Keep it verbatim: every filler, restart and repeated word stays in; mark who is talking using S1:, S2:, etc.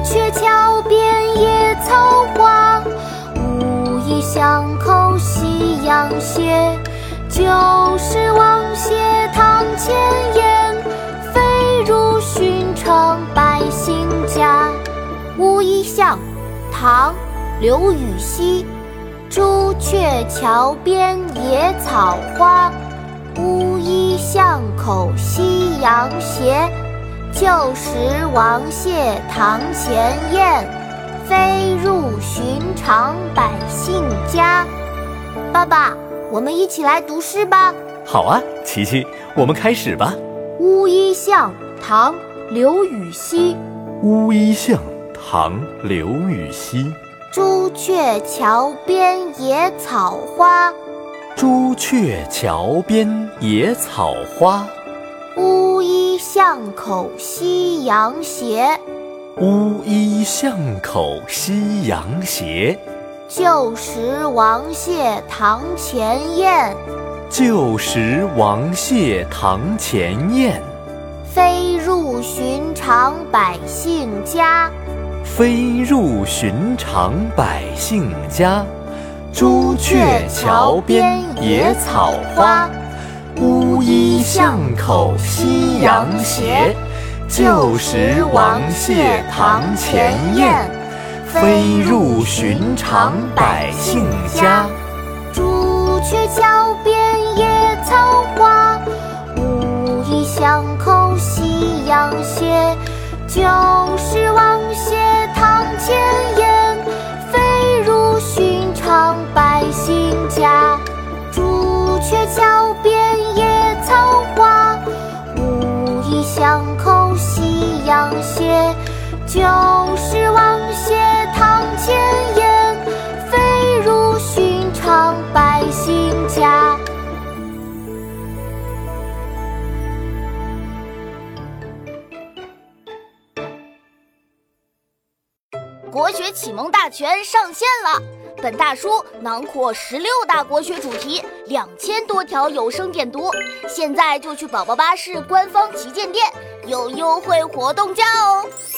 S1: 鹊桥边野草花，无意巷口夕阳斜。旧时王谢堂前燕，飞入寻常百姓家。乌衣巷，唐·刘禹锡。朱雀桥边野草花，乌衣巷口夕阳斜。旧时王谢堂前燕，飞入寻常百姓家。爸爸，我们一起来读诗吧。
S2: 好啊，琪琪，我们开始吧。
S1: 乌衣巷，唐·刘禹锡。
S2: 乌衣巷，唐·刘禹锡。
S1: 朱雀桥边野草花，
S2: 朱雀桥边野草花。
S1: 乌衣巷口夕阳斜。
S2: 乌衣巷口夕阳斜。
S1: 旧时王谢堂前燕，
S2: 旧时王谢堂前燕。
S1: 飞入寻常百姓家。
S2: 飞入寻常百姓家。朱雀桥边野草花，乌衣巷口夕阳斜。旧时王谢堂前燕，飞入寻常百姓家。
S1: 朱雀桥边野草花，乌衣巷口夕阳斜。旧时王谢堂前燕，飞入寻常百姓家。朱雀桥边野草花，乌衣巷口夕阳斜。旧时王谢堂前燕，飞入寻常百姓家。
S3: 国学启蒙大全上线了！本大书囊括十六大国学主题，两千多条有声点读。现在就去宝宝巴士官方旗舰店，有优惠活动价哦！